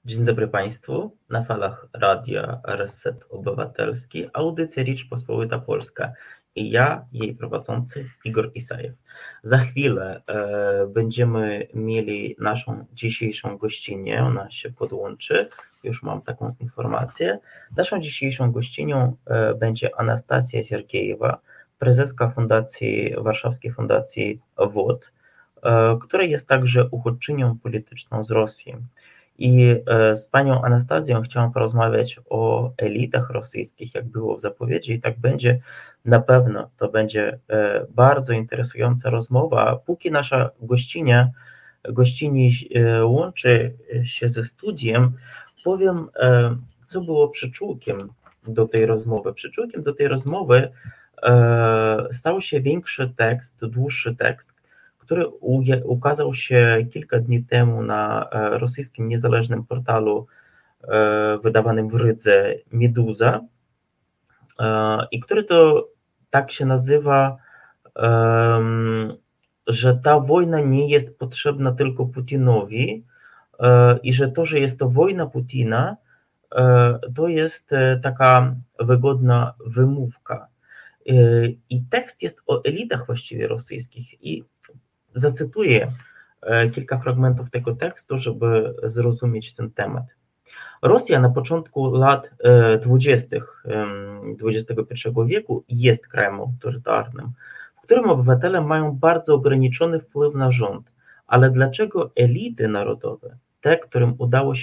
Dzień dobry Państwu. Na falach Radia Reset Obywatelski, audycja Rzeczpospolita Polska i ja, jej prowadzący Igor Isajew. Za chwilę będziemy mieli naszą dzisiejszą gościnię, ona się podłączy, już mam taką informację. Naszą dzisiejszą gościnią będzie Anastasja Siergiejewa, prezeska Warszawskiej Fundacji WOT, która jest także uchodźczynią polityczną z Rosji. I z panią Anastazją chciałam porozmawiać o elitach rosyjskich, jak było w zapowiedzi, i tak będzie. Na pewno to będzie bardzo interesująca rozmowa. Póki nasza gościni łączy się ze studiem, powiem, co było przyczółkiem do tej rozmowy. Przyczółkiem do tej rozmowy stał się większy tekst, dłuższy tekst, który ukazał się kilka dni temu na rosyjskim niezależnym portalu wydawanym w Rydze Meduza i który to tak się nazywa, że ta wojna nie jest potrzebna tylko Putinowi i że to, że jest to wojna Putina, to jest taka wygodna wymówka. I tekst jest o elitach właściwie rosyjskich i zacytuję kilka fragmentów tego tekstu, żeby zrozumieć ten temat. Rosja na początku lat 20. XXI wieku jest krajem autorytarnym, w którym obywatele mają bardzo ograniczony wpływ na rząd. Ale dlaczego elity narodowe, te, którym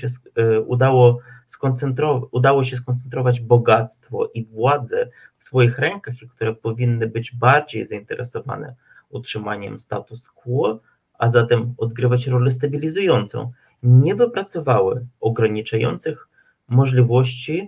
udało się skoncentrować bogactwo i władzę w swoich rękach i które powinny być bardziej zainteresowane utrzymaniem status quo, a zatem odgrywać rolę stabilizującą, nie wypracowały ograniczających możliwości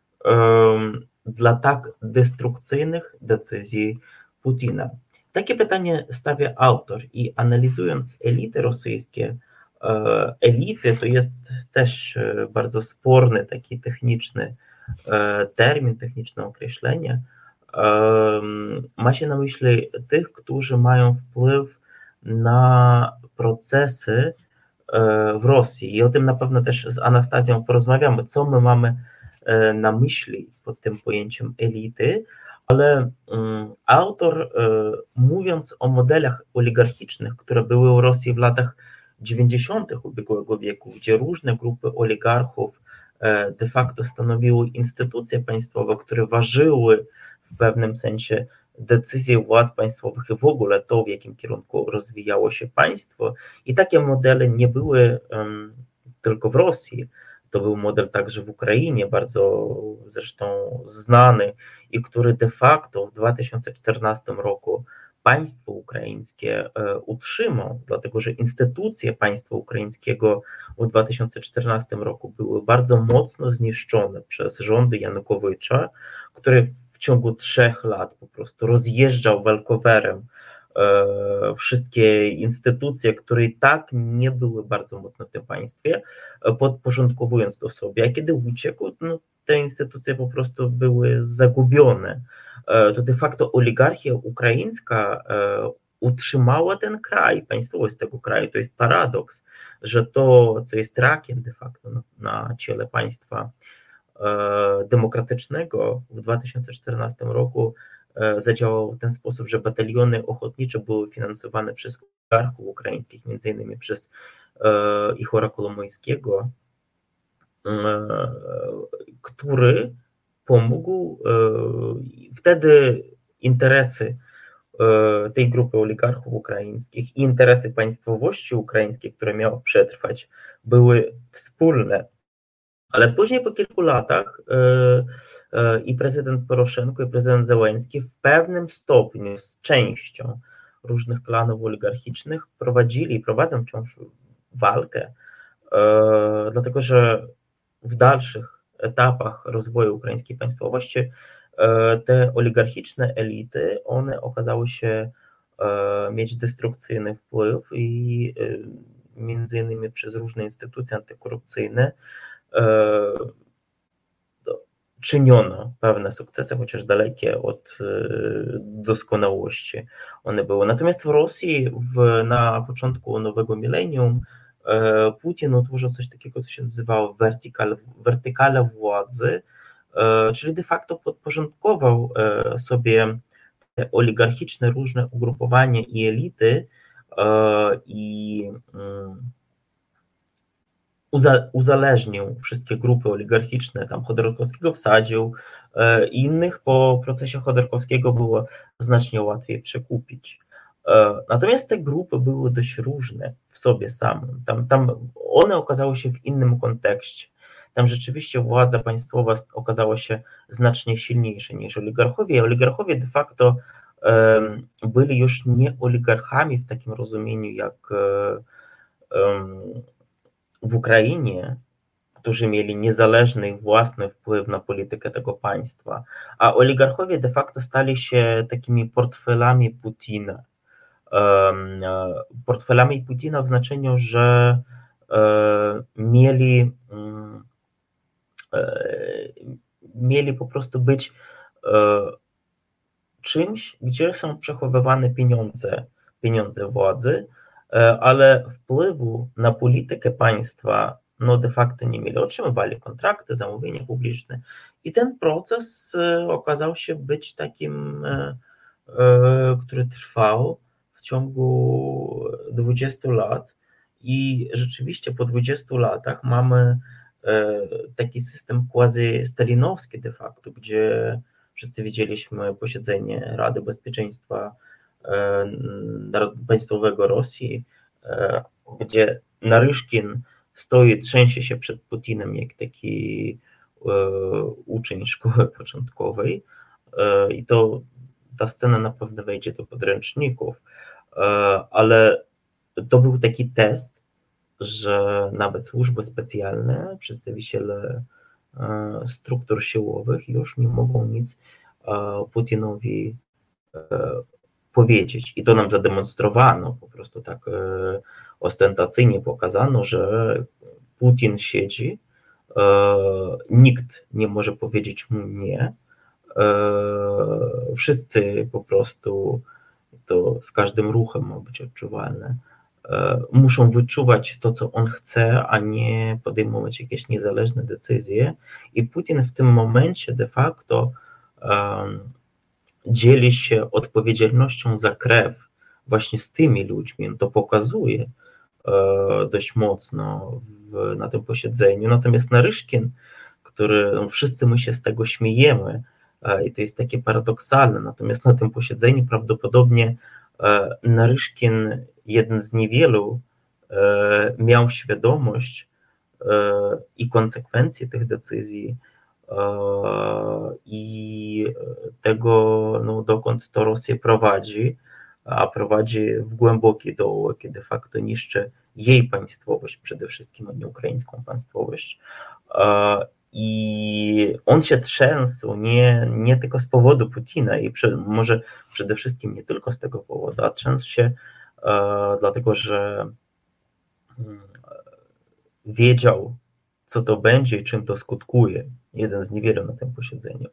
dla tak destrukcyjnych decyzji Putina? Takie pytanie stawia autor i analizując elity rosyjskie, elity to jest też bardzo sporny, taki techniczny termin, techniczne określenie, ma się na myśli tych, którzy mają wpływ na procesy w Rosji i o tym na pewno też z Anastazją porozmawiamy, co my mamy na myśli pod tym pojęciem elity, ale autor, mówiąc o modelach oligarchicznych, które były w Rosji w latach 90. ubiegłego wieku, gdzie różne grupy oligarchów de facto stanowiły instytucje państwowe, które ważyły w pewnym sensie decyzje władz państwowych i w ogóle to, w jakim kierunku rozwijało się państwo. I takie modele nie były tylko w Rosji. To był model także w Ukrainie, bardzo zresztą znany i który de facto w 2014 roku państwo ukraińskie utrzymał, dlatego że instytucje państwa ukraińskiego w 2014 roku były bardzo mocno zniszczone przez rządy Janukowycza, który w ciągu 3 lat po prostu rozjeżdżał walkowerem wszystkie instytucje, które i tak nie były bardzo mocno w tym państwie, podporządkowując to sobie, a kiedy uciekł, no, te instytucje po prostu były zagubione. To de facto oligarchia ukraińska utrzymała ten kraj, państwowość tego kraju. To jest paradoks, że to, co jest rakiem de facto na ciele państwa demokratycznego w 2014 roku zadziałał w ten sposób, że bataliony ochotnicze były finansowane przez oligarchów ukraińskich, między innymi przez Ichora Kolomojskiego, który pomógł wtedy interesy tej grupy oligarchów ukraińskich i interesy państwowości ukraińskiej, które miało przetrwać, były wspólne. Ale później po kilku latach i prezydent Poroszenko, i prezydent Zełenski w pewnym stopniu z częścią różnych klanów oligarchicznych prowadzą wciąż walkę, dlatego że w dalszych etapach rozwoju ukraińskiej państwowości te oligarchiczne elity, one okazały się mieć destrukcyjny wpływ i między innymi przez różne instytucje antykorupcyjne czyniono pewne sukcesy, chociaż dalekie od doskonałości one były. Natomiast w Rosji na początku nowego milenium Putin utworzył coś takiego, co się nazywało wertykala władzy, czyli de facto podporządkował sobie te oligarchiczne różne ugrupowania i elity i uzależnił wszystkie grupy oligarchiczne, tam Chodorkowskiego wsadził, innych po procesie Chodorkowskiego było znacznie łatwiej przekupić. Natomiast te grupy były dość różne w sobie samym. Tam one okazały się w innym kontekście. Tam rzeczywiście władza państwowa okazała się znacznie silniejsza niż oligarchowie. Oligarchowie de facto byli już nie oligarchami w takim rozumieniu jak w Ukrainie, którzy mieli niezależny i własny wpływ na politykę tego państwa, a oligarchowie de facto stali się takimi portfelami Putina. Portfelami Putina w znaczeniu, że mieli po prostu być czymś, gdzie są przechowywane pieniądze władzy, ale wpływu na politykę państwa no de facto nie mieli. Otrzymywali kontrakty, zamówienia publiczne i ten proces okazał się być takim, który trwał w ciągu 20 lat i rzeczywiście po 20 latach mamy taki system quasi-stalinowski de facto, gdzie wszyscy widzieliśmy posiedzenie Rady Bezpieczeństwa Państwowego Rosji, gdzie Naryszkin stoi, trzęsie się przed Putinem jak taki uczeń szkoły początkowej i ta scena na pewno wejdzie do podręczników, ale to był taki test, że nawet służby specjalne, przedstawiciele struktur siłowych już nie mogą nic Putinowi powiedzieć. I to nam zademonstrowano, po prostu tak ostentacyjnie pokazano, że Putin siedzi, nikt nie może powiedzieć mu nie, wszyscy po prostu, to z każdym ruchem ma być odczuwalne, muszą wyczuwać to, co on chce, a nie podejmować jakieś niezależne decyzje. I Putin w tym momencie de facto dzieli się odpowiedzialnością za krew właśnie z tymi ludźmi. On to pokazuje dość mocno na tym posiedzeniu. Natomiast Naryszkin, no wszyscy my się z tego śmiejemy i to jest takie paradoksalne, natomiast na tym posiedzeniu prawdopodobnie Naryszkin, jeden z niewielu, miał świadomość i konsekwencje tych decyzji i tego, no, dokąd to Rosję prowadzi, a prowadzi w głębokie dołek i de facto niszczy jej państwowość przede wszystkim, a nie ukraińską państwowość. I on się trzęsł nie tylko z powodu Putina i może przede wszystkim nie tylko z tego powodu, a trzęsł się dlatego, że wiedział, co to będzie i czym to skutkuje. Jeden z niewielu na tym posiedzeniu.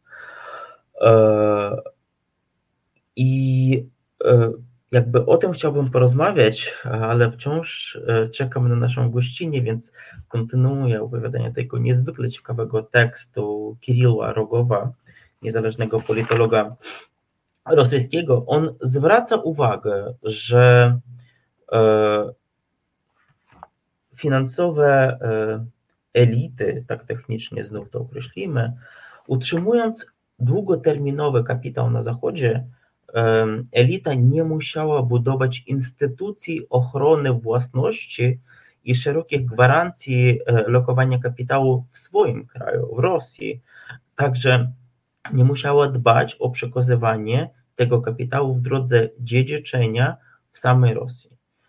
I jakby o tym chciałbym porozmawiać, ale wciąż czekam na naszą gościnę, więc kontynuuję opowiadanie tego niezwykle ciekawego tekstu Kiryła Rogowa, niezależnego politologa rosyjskiego. On zwraca uwagę, że finansowe elity, tak technicznie znów to określimy, utrzymując długoterminowy kapitał na Zachodzie, elita nie musiała budować instytucji ochrony własności i szerokich gwarancji lokowania kapitału w swoim kraju, w Rosji. Także nie musiała dbać o przekazywanie tego kapitału w drodze dziedziczenia w samej Rosji.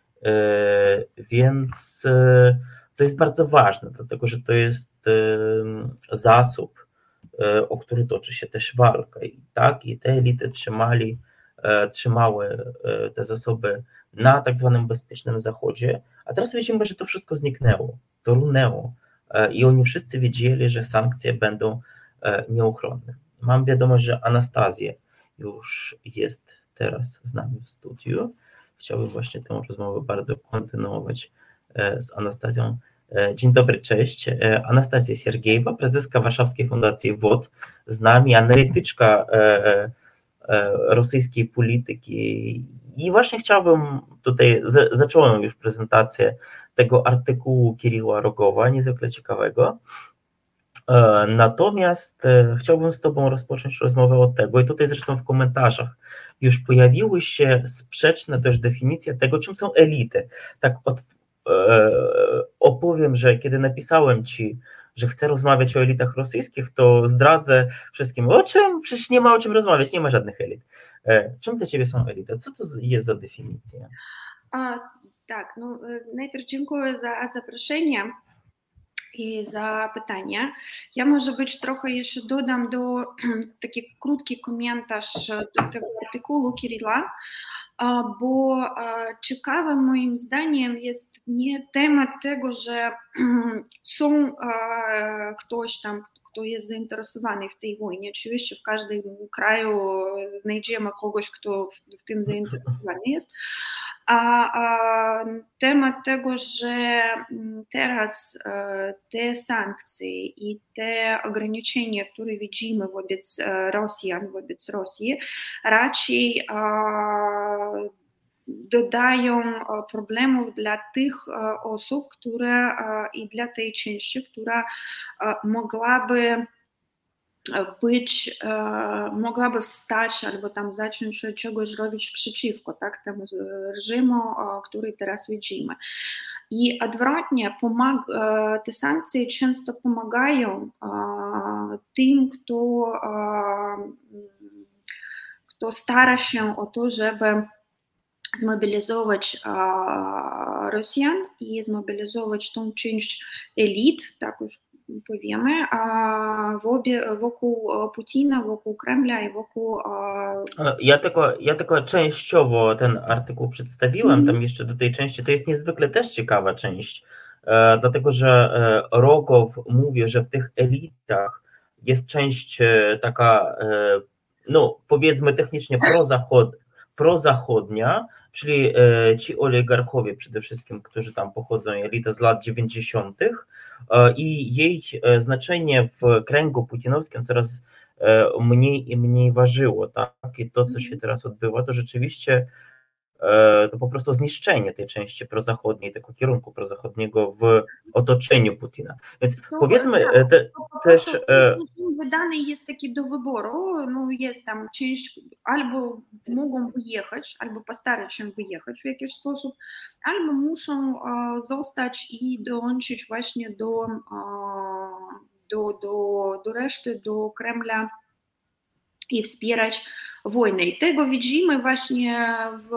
Więc to jest bardzo ważne, dlatego że to jest zasób, o który toczy się też walka. I te elity trzymały te zasoby na tak zwanym bezpiecznym Zachodzie, a teraz widzimy, że to wszystko zniknęło, to runęło i oni wszyscy wiedzieli, że sankcje będą nieuchronne. Mam wiadomość, że Anastazja już jest teraz z nami w studiu. Chciałbym właśnie tę rozmowę bardzo kontynuować z Anastazją. Dzień dobry, cześć. Anastazja Siergiejewa, prezeska Warszawskiej Fundacji WOT, z nami, analityczka rosyjskiej polityki. I właśnie chciałbym tutaj, zacząłem już prezentację tego artykułu Kiryła Rogowa, niezwykle ciekawego. Natomiast chciałbym z Tobą rozpocząć rozmowę od tego, i tutaj zresztą w komentarzach już pojawiły się sprzeczne też definicje tego, czym są elity. Tak opowiem, że kiedy napisałem Ci, że chcę rozmawiać o elitach rosyjskich, to zdradzę wszystkim, o czym? Przecież nie ma o czym rozmawiać, nie ma żadnych elit. Czym dla Ciebie są elity? Co to jest za definicja? Tak, no najpierw dziękuję za zaproszenie i za pytanie. Ja może być trochę jeszcze dodam taki krótki komentarz do tego artykułu Kiryla, bo ciekawym moim zdaniem jest nie temat tego, że są ktoś tam, kto jest zainteresowany w tej wojnie. Oczywiście w każdym kraju znajdziemy kogoś, kto w tym zainteresowany jest. A temat tego, że teraz te sankcje i te ograniczenia, które widzimy wobec Rosjan, wobec Rosji, raczej dodają problemów dla tych osób, które i dla tej części, która mogłaby wstać albo tam zacząć czegoś robić przeciwko temu reżimu, który teraz widzimy. I odwrotnie, te sankcje często pomagają tym, kto stara się o to, żeby zmobilizować Rosjan i zmobilizować tą część elit, tak już powiemy, wokół Putina, wokół Kremla i wokół... Ja tylko częściowo ten artykuł przedstawiłem, tam jeszcze do tej części, to jest niezwykle też ciekawa część, dlatego że Rogow mówi, że w tych elitach jest część taka, no powiedzmy technicznie prozachodnia, czyli ci oligarchowie przede wszystkim, którzy tam pochodzą, elita z lat 90. I jej znaczenie w kręgu putinowskim coraz mniej i mniej ważyło, tak? I to, co się teraz odbywa, to rzeczywiście to po prostu zniszczenie tej części prozachodniej, tego kierunku prozachodniego w otoczeniu Putina. Więc powiedzmy też... Im wydany jest taki do wyboru, no jest tam część, albo mogą wyjechać, albo postarać się wyjechać w jakiś sposób, albo muszą zostać i dołączyć właśnie do reszty, do Kremla i wspierać wojnę. I tego widzimy właśnie w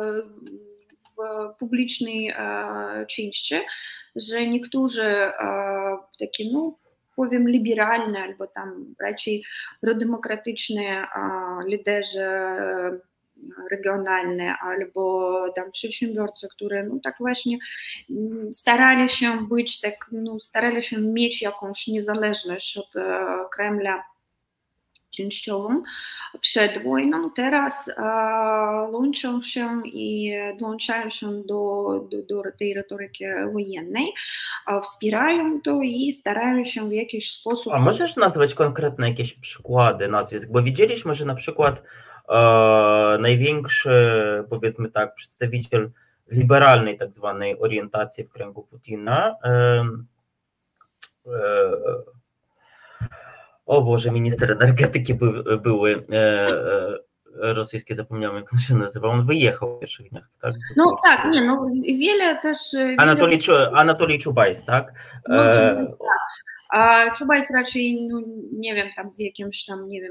publicznej części, że niektórzy takie, no powiem, liberalne albo tam raczej prodemokratyczne liderzy regionalne albo tam przedsiębiorcy, które no tak właśnie starali się być, tak, no, starali się mieć jakąś niezależność od Kremla częściową przed wojną, teraz łączą się i dołączają się do tej retoryki wojennej, wspierają to i starają się w jakiś sposób... A możesz nazwać konkretne jakieś przykłady nazwisk? Bo widzieliśmy, że na przykład największy, powiedzmy tak, przedstawiciel liberalnej tak zwanej orientacji w kręgu Putina, o Boże, minister energetyki były rosyjskie, zapomniałem jak on się nazywał, on wyjechał w pierwszych dniach, tak? No tak, nie, no wiele też... Anatolij Czubajs, tak? No, tak. A Czubajs raczej, no, nie wiem, tam z jakimś tam, nie wiem,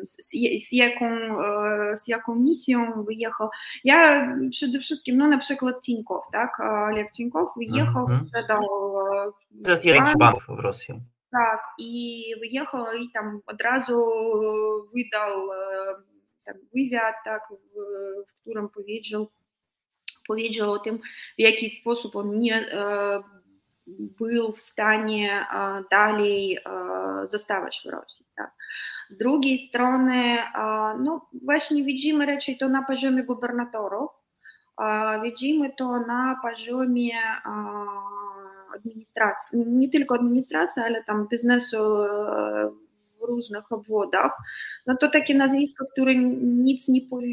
z jaką misją wyjechał. Ja przede wszystkim, no na przykład Tinkow, tak? Oleg Tinkow wyjechał, sprzedał... To jest jeden z banków w Rosji. Tak, i wyjechał i tam od razu wydał tam wywiad, tak, w którym powiedział o tym, w jaki sposób on nie był w stanie dalej zostawać w Rosji. Tak. Z drugiej strony, no właśnie widzimy raczej to na poziomie gubernatorów, widzimy to na poziomie administracji, nie tylko administracji, ale tam biznesu w różnych obwodach, no to takie nazwiska, które nic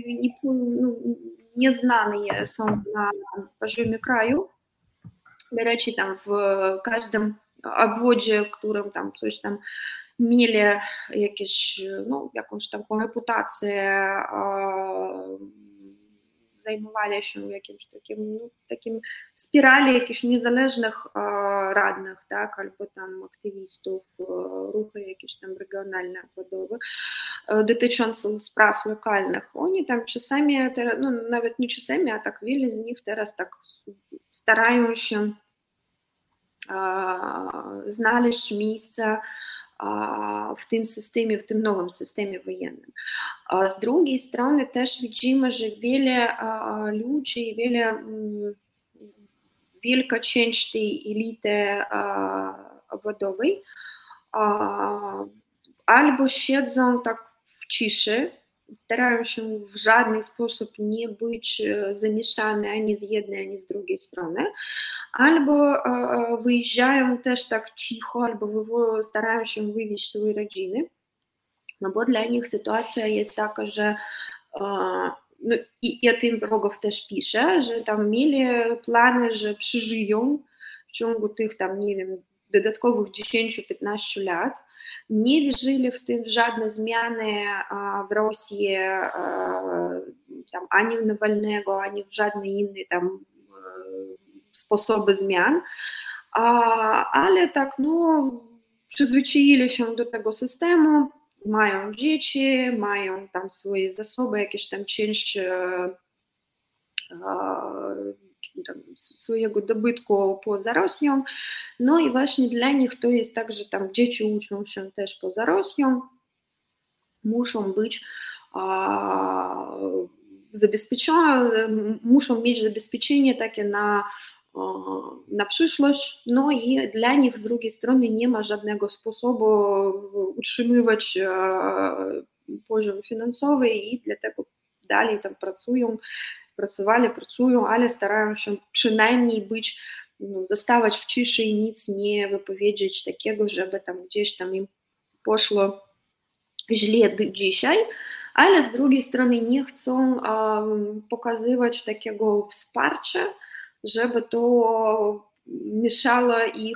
nie znane są na poziomie kraju. Rечі tam w każdym obwodzie, w którym tam coś tam mieli jakieś, no, jakąś taką reputację, zajmowali się jakimś takim wspierali jakichś niezależnych radnych, tak, albo tam aktywistów, ruchy jakieś tam regionalne, obwodowe, dotyczące spraw lokalnych. Oni tam czasami, no nawet nie czasami, a tak wiele z nich teraz tak starają się znaleźć miejsce w tym systemie, w tym nowym systemie wojennym. Z drugiej strony też widzimy, że wiele ludzi, wielka część tej elity obwodowej albo siedzą tak w ciszy, starają się w żaden sposób nie być zamieszane ani z jednej, ani z drugiej strony, albo wyjeżdżają też tak cicho, albo starają się wywieźć swoje rodziny, no bo dla nich sytuacja jest taka, że no i o tym Rogow też pisze, że tam mieli plany, że przeżyją w ciągu tych tam, nie wiem, dodatkowych 10-15 lat, nie wierzyli w tym żadne zmiany w Rosji, tam, ani w Nawalnego, ani w żadne inne tam sposoby zmian, ale tak, no, przyzwyczaili się do tego systemu, mają dzieci, mają tam swoje zasoby, jakieś tam część swojego dobytku poza Rosją, no i właśnie dla nich to jest tak, że tam dzieci uczą się też poza Rosją, muszą być zabezpieczone, muszą mieć zabezpieczenie takie na przyszłość, no i dla nich z drugiej strony nie ma żadnego sposobu utrzymywać poziom finansowy i dlatego dalej tam pracują, ale starają się przynajmniej być, no, zostawać w ciszy i nic nie wypowiedzieć takiego, żeby tam gdzieś tam im poszło źle dzisiaj, ale z drugiej strony nie chcą pokazywać takiego wsparcia, żeby to mieszało ich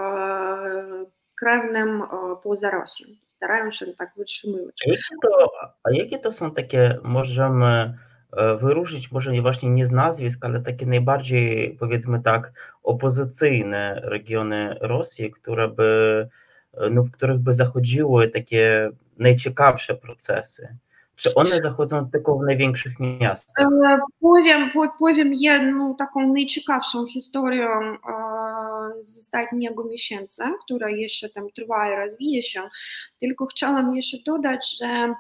krewnym poza Rosją. Starają się tak wytrzymywać. A jakie to są takie, możemy wyróżnić, może nie właśnie nie z nazwisk, ale takie najbardziej, powiedzmy tak, opozycyjne regiony Rosji, w których by zachodziły takie najciekawsze procesy? Czy one zachodzą tylko w największych miastach? Powiem jedną taką najciekawszą historię z ostatniego miesiąca, która jeszcze tam trwa i rozwija się. Tylko chciałam jeszcze dodać, że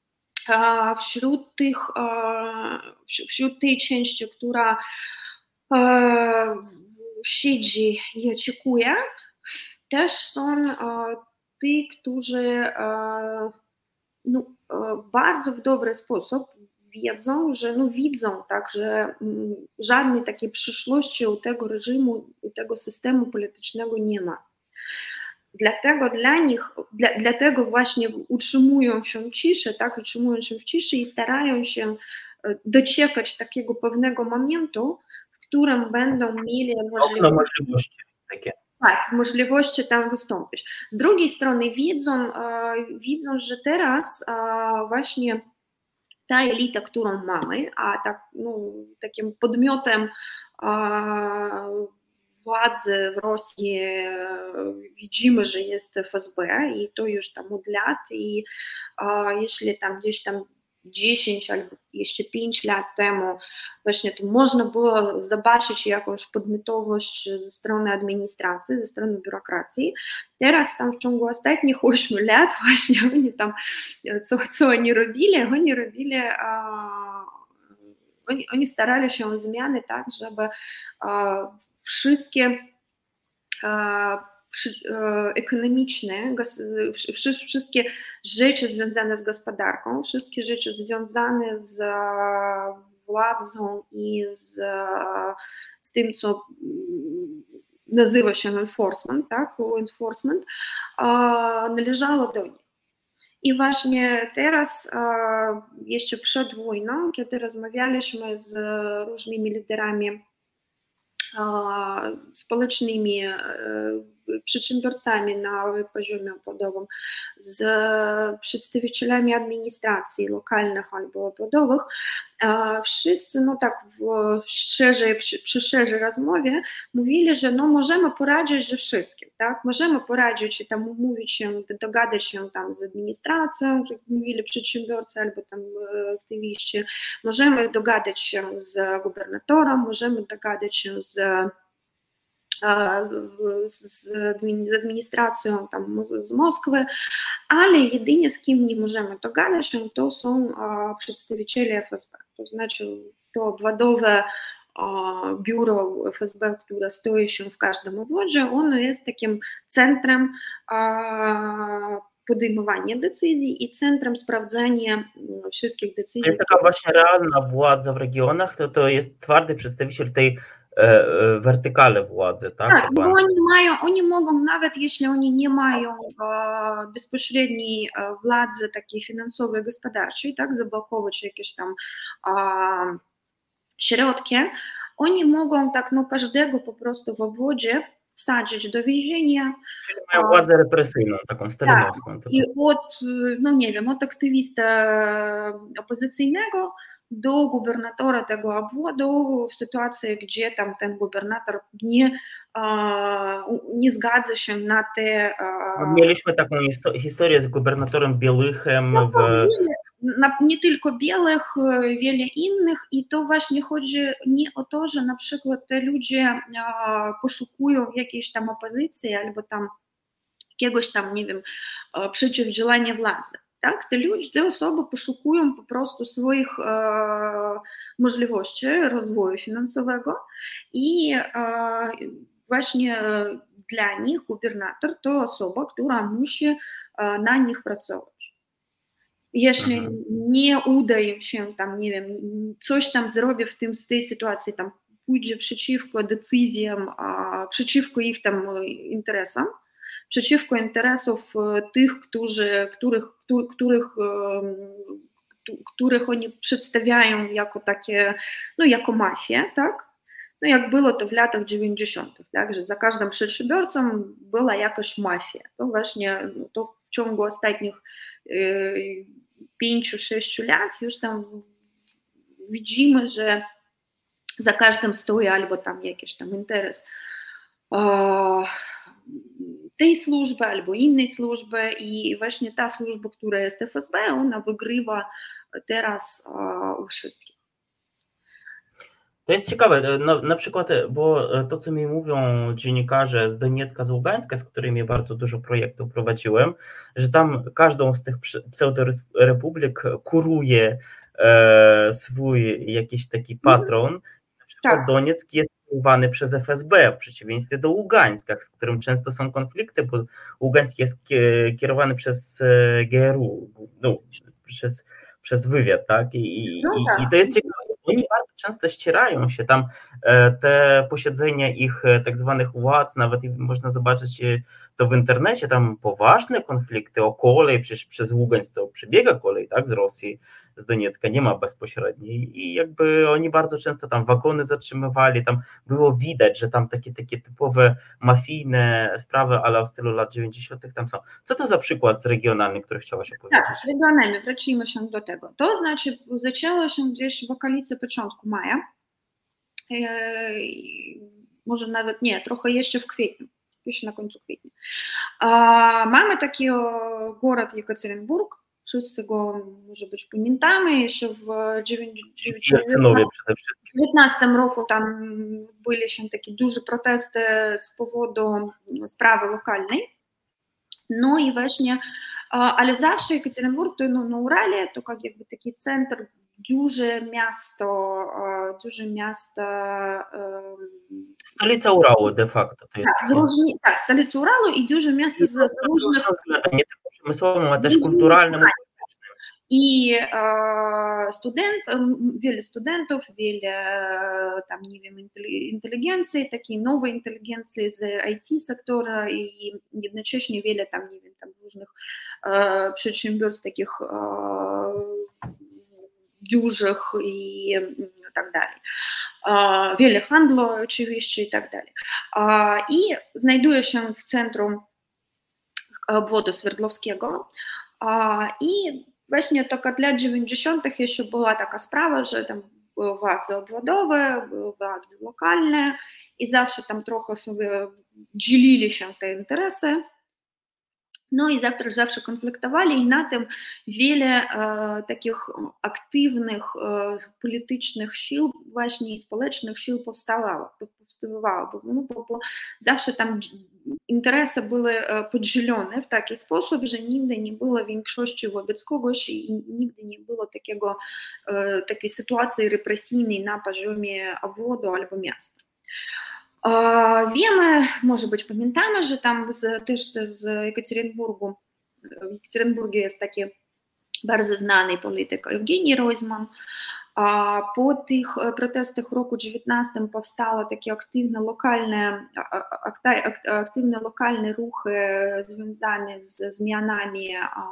wśród tej części, która siedzi i oczekuje, też są ci, którzy bardzo w dobry sposób wiedzą, że widzą, tak, że żadnej takiej przyszłości u tego reżimu, u tego systemu politycznego nie ma. Dlatego właśnie utrzymują się w ciszy i starają się doczekać takiego pewnego momentu, w którym będą mieli możliwości takie. Tak, możliwości tam wystąpić. Z drugiej strony widzą, że teraz właśnie ta elita, którą mamy, a tak, takim podmiotem władzy w Rosji widzimy, że jest FSB i to już tam od lat i jeśli tam gdzieś tam 10 albo jeszcze 5 lat temu właśnie to można było zobaczyć jakąś podmiotowość ze strony administracji, ze strony biurokracji. Teraz tam w ciągu ostatnich 8 lat właśnie oni tam, co oni robili? Oni starali się o zmiany tak, żeby wszystkie ekonomiczne, wszystkie rzeczy związane z gospodarką, wszystkie rzeczy związane z władzą i z tym, co nazywa się enforcement, tak, enforcement, należało do nich. I właśnie teraz, jeszcze przed wojną, kiedy rozmawialiśmy z różnymi liderami społecznymi, przedsiębiorcami na poziomie obwodowym, z przedstawicielami administracji lokalnych albo obwodowych, wszyscy, no tak przy szerzej rozmowie mówili, że no możemy poradzić ze wszystkim, tak, możemy poradzić i tam umówić się, dogadać się tam z administracją, jak mówili przedsiębiorcy albo tam aktywiści, możemy dogadać się z gubernatorem, możemy dogadać się z administracją tam z Moskwy, ale jedynie z kim nie możemy dogadać się, to są przedstawiciele FSB, to znaczy to obwodowe biuro FSB, które stoi się w każdym obwodzie, ono jest takim centrum podejmowania decyzji i centrum sprawdzania wszystkich decyzji. To jest taka właśnie realna władza w regionach, to jest twardy przedstawiciel tej wertykale władzy, tak? Tak, bo oni mogą, nawet jeśli oni nie mają bezpośredniej władzy takiej finansowej, gospodarczej, tak, zablokować jakieś tam środki, oni mogą tak, no każdego po prostu w obwodzie wsadzić do więzienia. Czyli mają władzę represyjną, taką stalinowską. Tak, i od, no nie wiem, od aktywista opozycyjnego do gubernatora tego obwodu w sytuacji, gdzie tam ten gubernator nie zgadza się na te... Mieliśmy taką historię z gubernatorem Bielichem. No nie tylko Bielych, wiele innych i to właśnie chodzi nie o to, że na przykład te ludzie poszukują jakiejś tam opozycji albo tam jakiegoś tam, nie wiem, przeciwdziałania władzy. Tak, te osoby poszukują po prostu swoich możliwości rozwoju finansowego i właśnie dla nich gubernator to osoba, która musi na nich pracować. Jeśli nie uda im się tam, nie wiem, coś tam zrobi w tej sytuacji, tam pójdzie przeciwko decyzjom, przeciwko ich tam interesom, przeciwko interesów tych, których oni przedstawiają jako takie, no jako mafię, tak? No jak było to w latach 90., tak? Że za każdym przedsiębiorcą była jakaś mafia. To właśnie to w ciągu ostatnich 5-6 lat już tam widzimy, że za każdym stoi albo tam jakiś tam interes tej służby albo innej służby i właśnie ta służba, która jest FSB, ona wygrywa teraz u wszystkich. To jest ciekawe, no, na przykład, bo to, co mi mówią dziennikarze z Doniecka, z Ługańska, z którymi bardzo dużo projektów prowadziłem, że tam każdą z tych pseudorepublik kuruje swój jakiś taki patron. Na przykład tak. Donieck jest kierowany przez FSB, w przeciwieństwie do Ługańska, z którym często są konflikty, bo Ługańsk jest kierowany przez GRU, no, przez wywiad, tak? I to jest ciekawe. Oni bardzo często ścierają się tam, te posiedzenia ich tak zwanych władz, nawet można zobaczyć to w internecie, tam poważne konflikty o kolej, przecież przez Ługańsk to przebiega kolej, tak, z Rosji, z Doniecka, nie ma bezpośredniej i jakby oni bardzo często tam wagony zatrzymywali, tam było widać, że tam takie typowe mafijne sprawy, ale w stylu lat 90. tam są. Co to za przykład z regionalny, który chciałaś opowiedzieć? Tak, z regionami, wrócimy się do tego. To znaczy zaczęło się gdzieś w okolicy początku maja, może nawet nie, trochę jeszcze w kwietniu, jeszcze na końcu kwietnia. Mamy taki город Jekaterynburg, wszyscy go może być pamiętamy, jeszcze w 2019 roku tam były się takie duże protesty z powodu sprawy lokalnej. No i właśnie, ale zawsze Jekaterynburg to na Urale, to jakby taki centrum, duże miasto. Stolica Urału de facto. To jest tak, stolica Urału i duże miasto z różnych... Nie tylko przemysłowym, ale też kulturalnym. И wiele studentów, wiele tam, nie wiem, inteligencji, takiej nowej inteligencji z IT sektora i jednocześnie wiele tam, nie wiem, tam różnych przedsiębiorstw takich dużych i tak dalej. Wiele handlu oczywiście i tak dalej. I znajduje się w centrum obwodu Swerdlowskiego i właśnie tylko od lat 90. jeszcze była taka sprawa, że tam były władze obwodowe, były władze lokalne i zawsze tam trochę sobie dzielili się te interesy. No i zawsze konfliktowali i na tym wiele takich aktywnych politycznych sił właśnie i społecznych sił powstawało, bo zawsze tam interesy były podzielone w taki sposób, że nigdy nie było większości wobec kogoś i nigdy nie było takiej sytuacji represyjnej na poziomie obwodu albo miasta. Wiemy, może być pamiętamy, że tam też z Jekaterinburgu, w Jekaterinburgu jest taki bardzo znany polityk Ewgenij Roizman. Po tych protestach roku 19 powstały takie aktywne lokalne ruchy związane z zmianami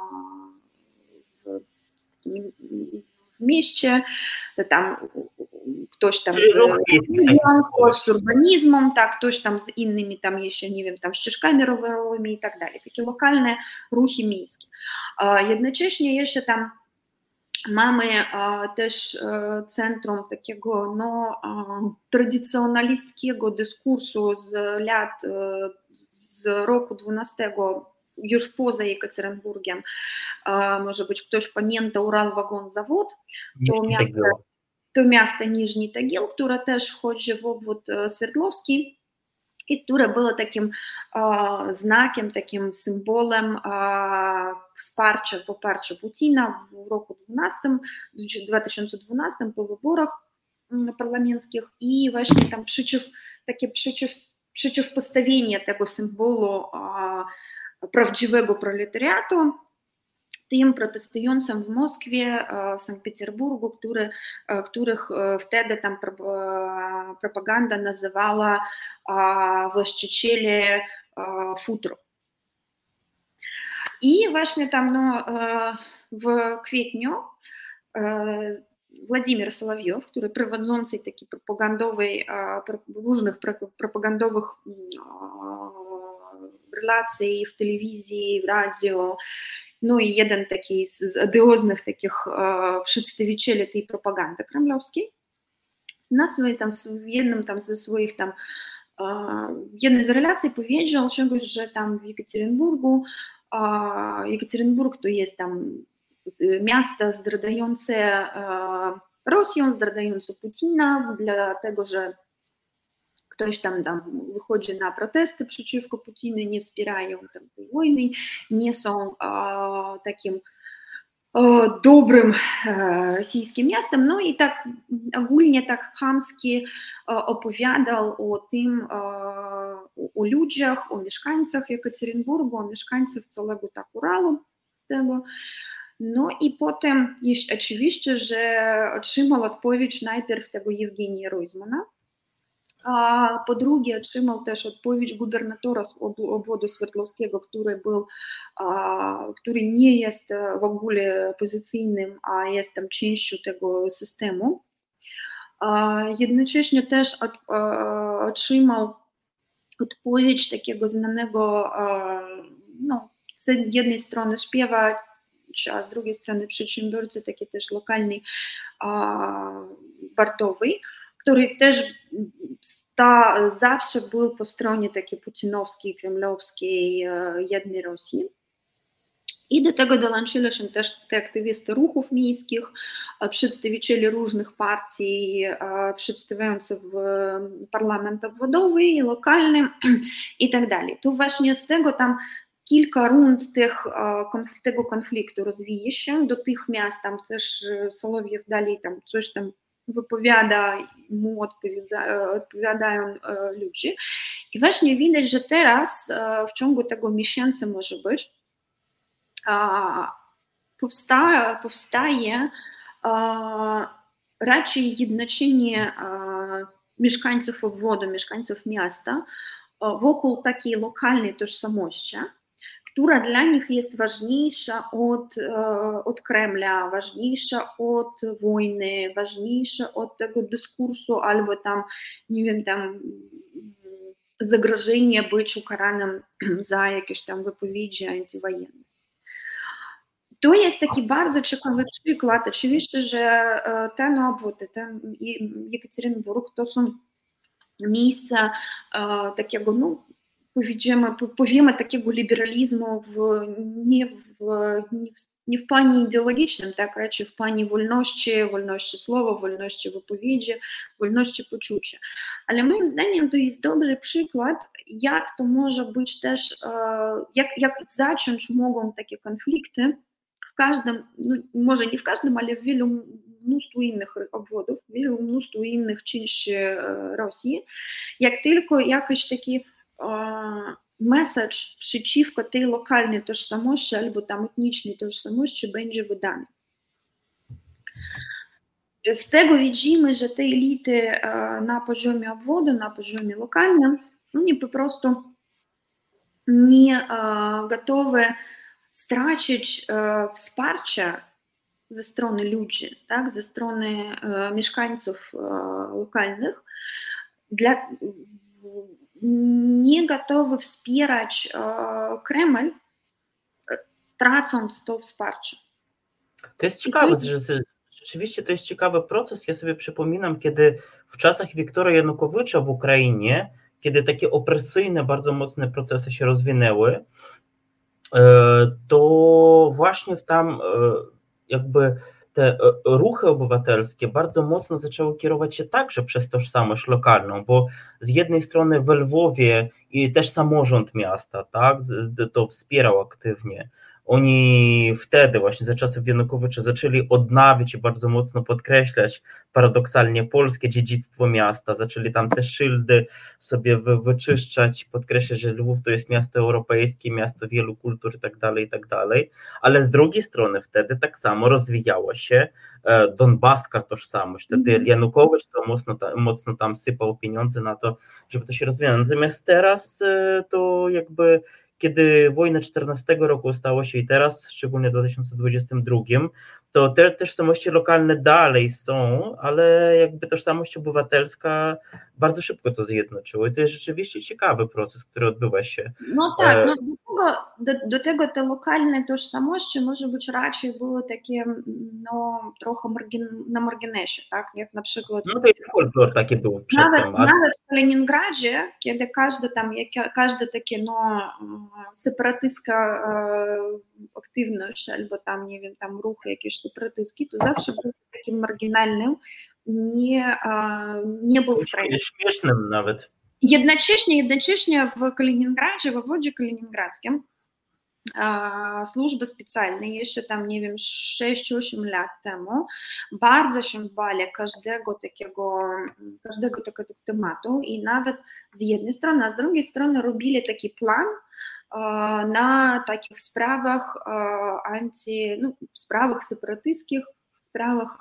w mieście, to tam ktoś tam z urbanizmem, tak, ktoś tam z innymi tam jeszcze, nie wiem, tam ścieżkami rowerowymi i tak dalej. Takie lokalne ruchy miejskie. Jednocześnie jeszcze tam mamy też centrum takiego tradycjonalistskiego dyskursu z roku 12, już poza Jekaterinburgiem. Może być ktoś pamięta Uralwagonzawód, to miasto Niżny Tagil, które też wchodzi w obwód Swerdlowski i które było takim znakiem, takim symbolem wsparcia, poparcia Putina w roku 2012 po wyborach parlamentarnych i właśnie tam przeciwpostawienie tego symbolu prawdziwego proletariatu tym protestującym w Moskwie, w Sankt Petersburgu, których wtedy tam propaganda nazywała właścicieli futro. I właśnie tam w kwietniu Władimir Solowiew, który prowadzący taki różnych propagandowych relacji w telewizji, w radio, no i jeden taki z odioznych takich przedstawicieli tej propagandy kremlowskiej, w jednej z relacji powiedział czegoś, że tam w Jekaterinburg to jest tam miasto zdradzające Rosję, zdradzające Putina, dlatego że ktoś tam wychodzi na protesty przeciwko Putinu, nie wspierają tam tej wojny, nie są takim dobrym rosyjskim miastem. No i tak ogólnie tak chamski opowiadał o tym, o ludziach, o mieszkańcach Jekaterinburgu, o mieszkańcach całego tak Uralu z tego. No i potem jest oczywiście, że otrzymał odpowiedź najpierw tego Ewgenija Roizmana, a po drugie otrzymał też odpowiedź gubernatora z obwodu Swerdlowskiego, który nie jest w ogóle opozycyjnym, a jest tam częścią tego systemu. Jednocześnie też otrzymał odpowiedź takiego znanego, z jednej strony śpiewacza, a z drugiej strony przedsiębiorcy, taki też lokalny, Bartowy, który też zawsze był po stronie takiej putinowskiej, kremlowskiej, jednej Rosji. I do tego dołączyli się też te aktywisty ruchów miejskich, przedstawiciele różnych partii, przedstawiających w parlament obwodowy i lokalny i tak dalej. To właśnie z tego tam kilka rund tego konfliktu rozwija się. Dotychmiast tam też Solowiew dalej tam coś tam wypowiada, mu odpowiadają ludzie. I właśnie widać, że teraz w ciągu tego miesiąca może być powstaje raczej jednoczenie mieszkańców obwodu, mieszkańców miasta wokół takiej lokalnej tożsamości, która dla nich jest ważniejsza od Kremla, ważniejsza od wojny, ważniejsza od tego dyskursu albo tam, nie wiem, tam zagrożenia być ukaranym za jakieś tam wypowiedzi antywojenne. To jest taki bardzo ciekawy przykład. Oczywiście, że ten obwód, ten Jekaterynburg to są miejsca takiego, no powiemy takiego liberalizmu nie w planie ideologicznym, tak, raczej w planie wolności słowa, wolności wypowiedzi, wolności poczucia. Ale moim zdaniem to jest dobry przykład, jak to może być też, jak zacząć mogą takie konflikty w każdym, no może nie w każdym, ale w wielu mnóstwo innych obwodów, w wielu mnóstwo innych części Rosji, jak tylko jakiś taki message przeciwko tej lokalnej tożsamości albo tam etnicznej tożsamości będzie wydany. Z tego widzimy, że te elity na poziomie obwodu, na poziomie lokalnym, oni po prostu nie gotowe stracić wsparcia ze strony ludzi, tak, ze strony mieszkańców lokalnych, nie gotowy wspierać Kreml, tracąc to wsparcie. To jest ciekawe, że rzeczywiście to jest ciekawy proces. Ja sobie przypominam, kiedy w czasach Wiktora Janukowycza w Ukrainie, kiedy takie opresyjne, bardzo mocne procesy się rozwinęły, to właśnie tam jakby te ruchy obywatelskie bardzo mocno zaczęły kierować się także przez tożsamość lokalną, bo z jednej strony w Lwowie i też samorząd miasta, tak, to wspierał aktywnie. Oni wtedy właśnie za czasów Janukowycza zaczęli odnawiać i bardzo mocno podkreślać paradoksalnie polskie dziedzictwo miasta, zaczęli tam te szyldy sobie wyczyszczać, podkreślać, że Lwów to jest miasto europejskie, miasto wielu kultur i tak dalej, ale z drugiej strony wtedy tak samo rozwijała się donbaska tożsamość, wtedy Janukowicz to mocno tam sypał pieniądze na to, żeby to się rozwijało, natomiast teraz to jakby kiedy wojna 14 roku stało się i teraz, szczególnie w 2022, to te tożsamości lokalne dalej są, ale jakby tożsamość obywatelska bardzo szybko to zjednoczyło i to jest rzeczywiście ciekawy proces, który odbywa się. No tak, do tego te lokalne tożsamości może być raczej były takie no, trochę na marginesie, tak, jak na przykład... No to jest folklor taki był przedtem. Nawet w Kaliningradzie, kiedy każde takie no, separatystska aktywność albo tam, nie wiem, tam ruchy jakieś separatystki, to zawsze był takim marginalnym, nie był w trendzie. Śmiesznym nawet. Jednocześnie w Kaliningradzie, w obwodzie kaliningradzkim służby specjalne jeszcze tam, nie wiem, 6-8 lat temu bardzo się bali każdego takiego tematu i nawet z jednej strony, a z drugiej strony robili taki plan na takich sprawach sprawach separatystskich, sprawach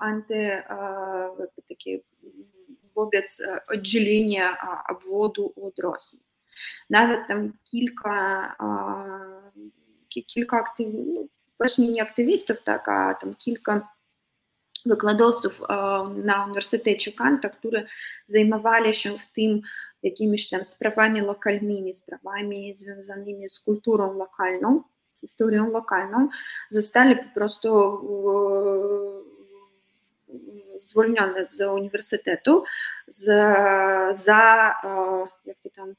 wobec oddzielenia obwodu od Rosji. Nawet tam kilka właśnie nie aktywistów, tak, a tam kilka wykładowców na Uniwersytecie Kanta, którzy zajmowali się w tym jakimiś tam sprawami lokalnymi, sprawami związanymi z kulturą lokalną, historią lokalną, zostali po prostu zwolnione z uniwersytetu za jak to tam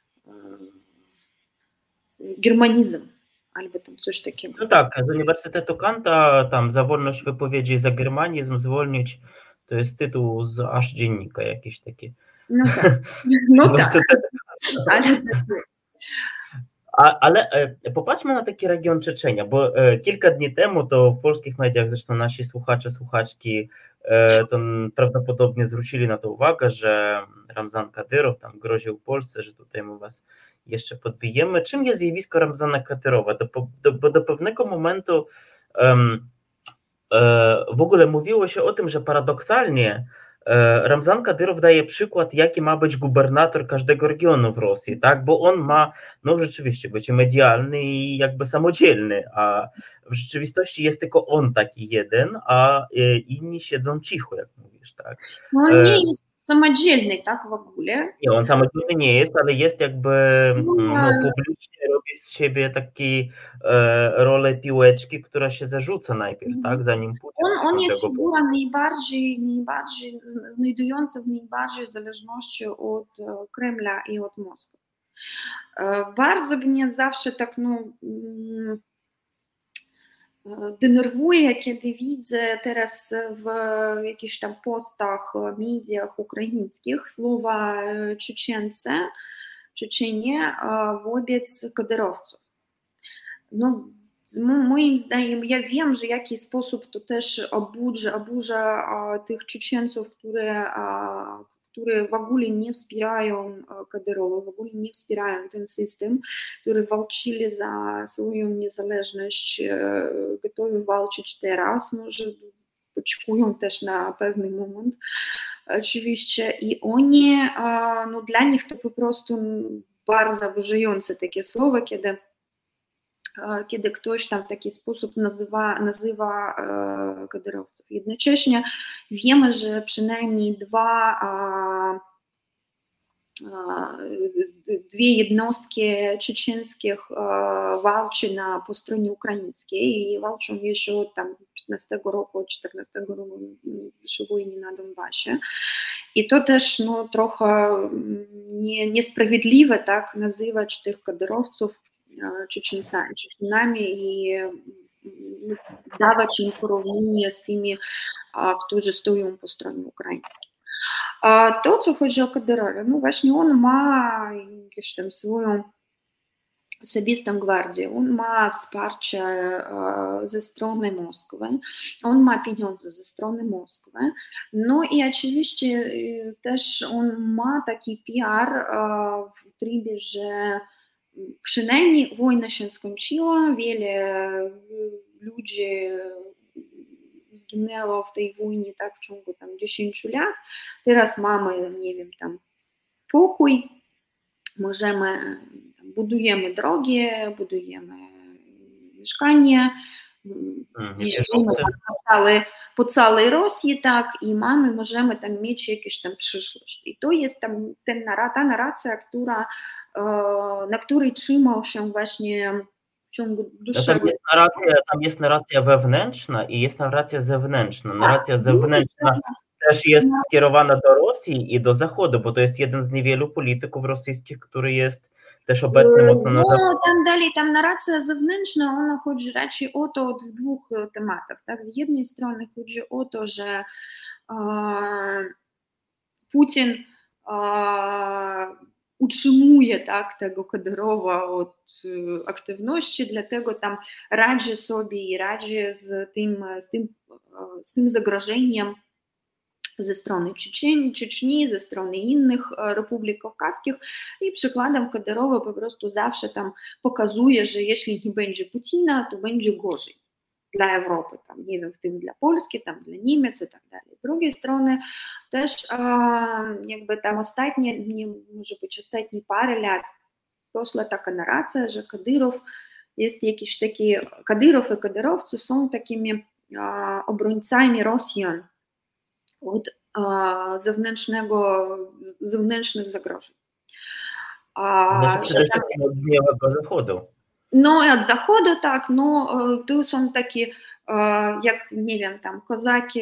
germanizm albo tam coś takiego. No tak, z Uniwersytetu Kanta tam za wolność wypowiedzi, za germanizm zwolnić, to jest tytuł z aż dziennika jakiś taki. No tak, ale tak jest. Ale popatrzmy na taki region Czeczenia, bo kilka dni temu to w polskich mediach, zresztą nasi słuchacze, słuchaczki to prawdopodobnie zwrócili na to uwagę, że Ramzan Kadyrow tam groził Polsce, że tutaj my was jeszcze podbijemy. Czym jest zjawisko Ramzana Kadyrowa? Bo do pewnego momentu W ogóle mówiło się o tym, że paradoksalnie Ramzan Kadyrow daje przykład, jaki ma być gubernator każdego regionu w Rosji, tak? Bo on ma, no rzeczywiście, być medialny i jakby samodzielny, a w rzeczywistości jest tylko on taki jeden, a inni siedzą cicho, jak mówisz, tak? No on nie jest samodzielny, tak w ogóle. Nie, on samodzielny nie jest, ale jest jakby, no, publicznie robi z siebie taki rolę piłeczki, która się zarzuca najpierw, tak, zanim pójdzie do On jest tego figura najbardziej znajdująca w najbardziej zależności od Kremla i od Moskwy. Bardzo mnie zawsze tak, no, denerwuje, kiedy widzę teraz w jakichś tam postach, mediach ukraińskich słowa Czeczenie wobec kadyrowców. No, moim zdaniem, ja wiem, że w jaki sposób to też oburza tych Czeczeńców, które w ogóle nie wspierają Kadyrowa, w ogóle nie wspierają ten system, które walczyli za swoją niezależność, gotowi walczyć teraz, może oczekują też na pewny moment, oczywiście, i oni, no dla nich to po prostu bardzo oburzające takie słowa, kiedy ktoś tam w taki sposób nazywa kadyrowców. Jednocześnie wiemy, że przynajmniej dwie jednostki czeczeńskich walczy po stronie ukraińskiej i walczą jeszcze od tam 15 roku, od 14 roku przy wojnie na Donbasie. I to też no, trochę niesprawiedliwe tak nazywać tych kadyrowców Czeczenami i dawać im porównanie z tymi, którzy stoją po stronie ukraińskiej. To, co chodzi o Kadyrowa, no właśnie on ma jakąś tam swoją osobistą gwardię, on ma wsparcie ze strony Moskwy, on ma pieniądze ze strony Moskwy, no i oczywiście też on ma taki PR w trybie, że przynajmniej wojna się skończyła, wiele ludzi zginęło w tej wojnie tak w ciągu tam 10 lat, teraz mamy, nie wiem, tam pokój, możemy, budujemy drogi, budujemy mieszkania, jeździmy po całej Rosji, tak, i możemy tam mieć jakąś tam przyszłość. I to jest tam ta narracja, na której trzymał się właśnie w ciągu dłuższego... Tam jest narracja wewnętrzna i jest narracja zewnętrzna. Narracja zewnętrzna też jest skierowana do Rosji i do Zachodu, bo to jest jeden z niewielu polityków rosyjskich, który jest też obecny mocno na Zachodzie. No, tam dalej, tam narracja zewnętrzna, ona chodzi raczej o to od dwóch tematów. Tak? Z jednej strony chodzi o to, że Putin utrzymuje tak, tego Kadyrowa od aktywności, dlatego tam radzi sobie i radzi z tym zagrożeniem ze strony Czeczni, ze strony innych republik kawkaskich i przykładem Kadyrowa po prostu zawsze tam pokazuje, że jeśli nie będzie Putina, to będzie gorzej dla Europy, tam, nie wiem, w tym dla Polski, tam dla Niemiec i tak dalej. Z drugiej strony też jakby tam ostatnie parę lat poszła taka narracja, że Kadyrow jest jakiś taki, Kadyrow i kadyrowcy są takimi obrońcami Rosjan od zewnętrznych zagrożeń. Znaczy przede wszystkim od dniowego Zachodu. No i od Zachodu, tak, no tu są takie, jak nie wiem, tam kozaki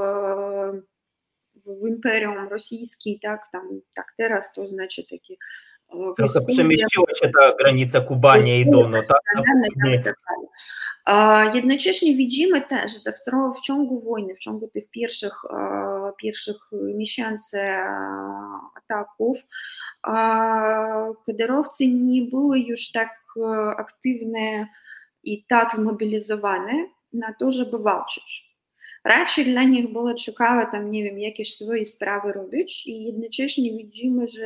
w Imperium Rosyjskim, tak, tam, tak teraz to znaczy takie trochę przemieściła się ta granica Kubania i Donu, tak? Jednocześnie widzimy też, że w ciągu wojny, w ciągu tych pierwszych miesięcy ataków, kadyrowcy nie były już tak aktywne i tak zmobilizowane na to, żeby walczyć. Raczej dla nich było ciekawe tam, nie wiem, jakieś swoje sprawy robić i jednocześnie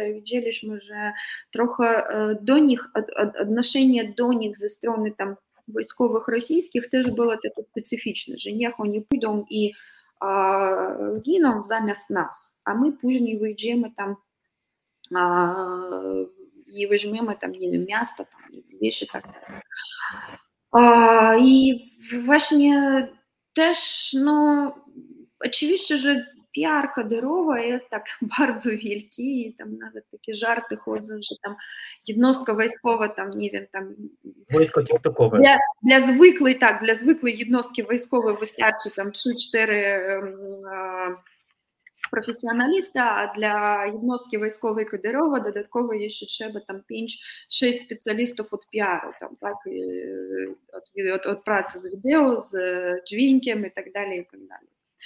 widzieliśmy, że trochę do nich, odnoszenie do nich ze strony tam wojskowych rosyjskich też było takie specyficzne, że niech oni pójdą i zginą zamiast nas, a my później wyjdziemy tam i weźmiemy tam, nie wiem, miasto, tam, wieś i tak dalej. I właśnie też, no, oczywiście, że PR Kadyrowa jest tak bardzo wielki i tam nawet takie żarty chodzą, że tam jednostka wojskowa, tam, nie wiem, tam... Wojsko TikTokowe. Dla zwykłej jednostki wojskowej wystarczy tam 3-4 професіоналіста, а для jednostki wojskowej Kadyrowa dodatkowo jeszcze trzeba tam 5-6 specjalistów od PR-u, tam, tak, od pracy z wideo, z dźwiękiem i tak dalej, i tak dalej.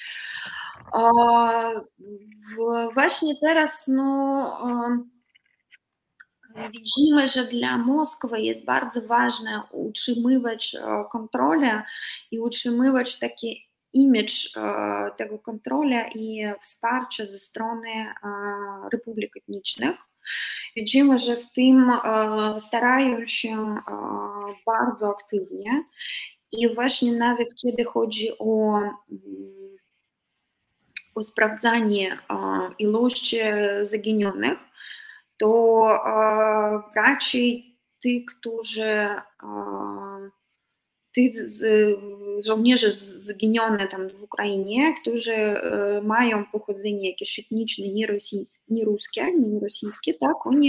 Właśnie teraz, no, widzimy, że dla Moskwy jest bardzo ważne utrzymywać kontrolę i utrzymywać taki imidż tego kontrola i wsparcie ze strony republik etnicznych. Widzimy, że w tym starają się bardzo aktywnie i właśnie nawet kiedy chodzi o sprawdzanie ilości zaginionych, to raczej tych żołnierzy zginionych tam w Ukrainie, którzy mają pochodzenie jakieś etniczne, nie rosyjskie, tak, oni,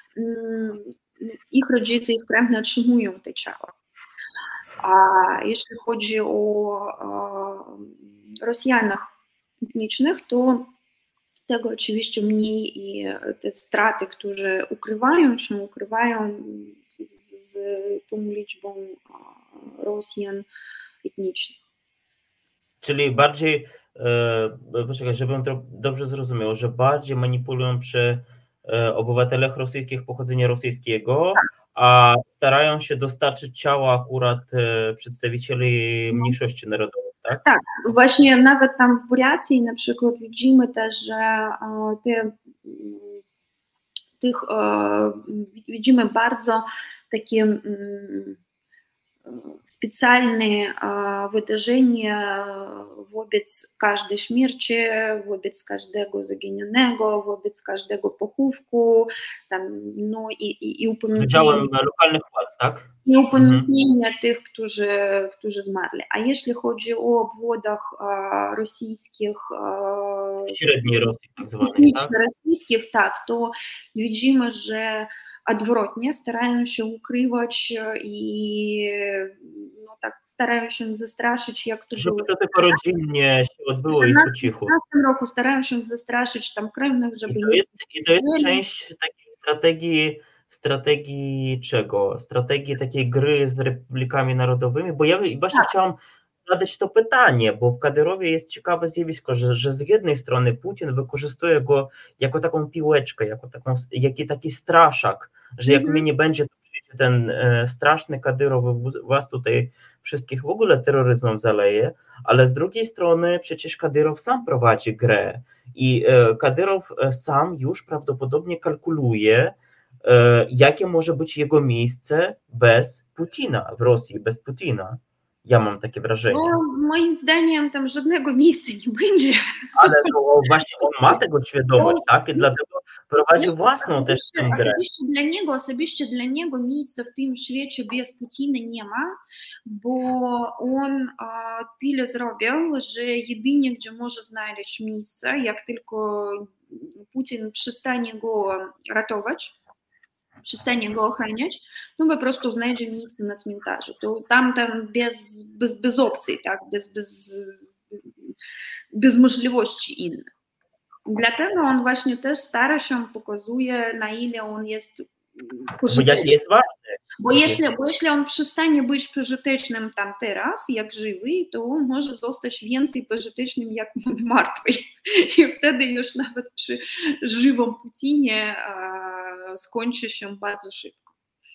ich rodzice, ich krewni otrzymują te ciała. A jeśli chodzi o Rosjanach etnicznych, to tego oczywiście mniej i te straty, które ukrywają z tą liczbą Rosjan etnicznych. Czyli bardziej, poczekaj, żebym to dobrze zrozumiał, że bardziej manipulują przy obywatelach rosyjskich pochodzenia rosyjskiego, a starają się dostarczyć ciała akurat przedstawicieli mniejszości narodowych, tak? Tak, właśnie nawet tam w Buryacji na przykład widzimy też, że widzimy bardzo takie specjalne wydarzenia wobec każdej śmierci, wobec każdego zaginionego, wobec każdego pochówku, tam, no i upamiętnienia lokalnych władz, tak? I upamiętnienia tych, którzy zmarli. A jeśli chodzi o obwodach rosyjskich, średniej Rosji, tak zwanej, etniczno-rosyjskich, tak, to widzimy, że odwrotnie starają się ukrywać i no tak starają się zastraszyć, jak to żeby było. to tylko rodzinnie się odbyło i po cichu. W 2015 roku starają się zastraszyć tam krewnych, żeby... I to jest część takiej strategii czego? Strategii takiej gry z republikami narodowymi, bo ja właśnie chciałam zadać to pytanie, bo w Kadyrowie jest ciekawe zjawisko, że z jednej strony Putin wykorzystuje go jako taką piłeczkę, jako taki straszak, że jak mnie nie będzie, to przyjdzie ten straszny Kadyrow, was tutaj wszystkich w ogóle terroryzmem zaleje, ale z drugiej strony przecież Kadyrow sam prowadzi grę i Kadyrow sam już prawdopodobnie kalkuluje, jakie może być jego miejsce bez Putina w Rosji, bez Putina. Ja mam takie wrażenie. No, moim zdaniem tam żadnego miejsca nie będzie. Ale to właśnie on ma tego świadomość, tak? I dlatego prowadzi własną też tę grę. Osobiście dla niego miejsca w tym świecie bez Putina nie ma, bo on tyle zrobił, że jedynie gdzie może znaleźć miejsce, jak tylko Putin przestanie go ratować, przestanie go ochraniać, no po prostu znajdzie miejsce na cmentarzu. To tam bez opcji, tak? Bez możliwości innych. Dlatego on właśnie też stara się, pokazuje, na ile on jest pożyteczny. Bo jaki jest ważny. Bo jeśli on przestanie być pożytecznym tam teraz, jak żywy, to on może zostać więcej pożytecznym jak martwy. I wtedy już nawet przy żywym Putinie skończy się bardzo szybko.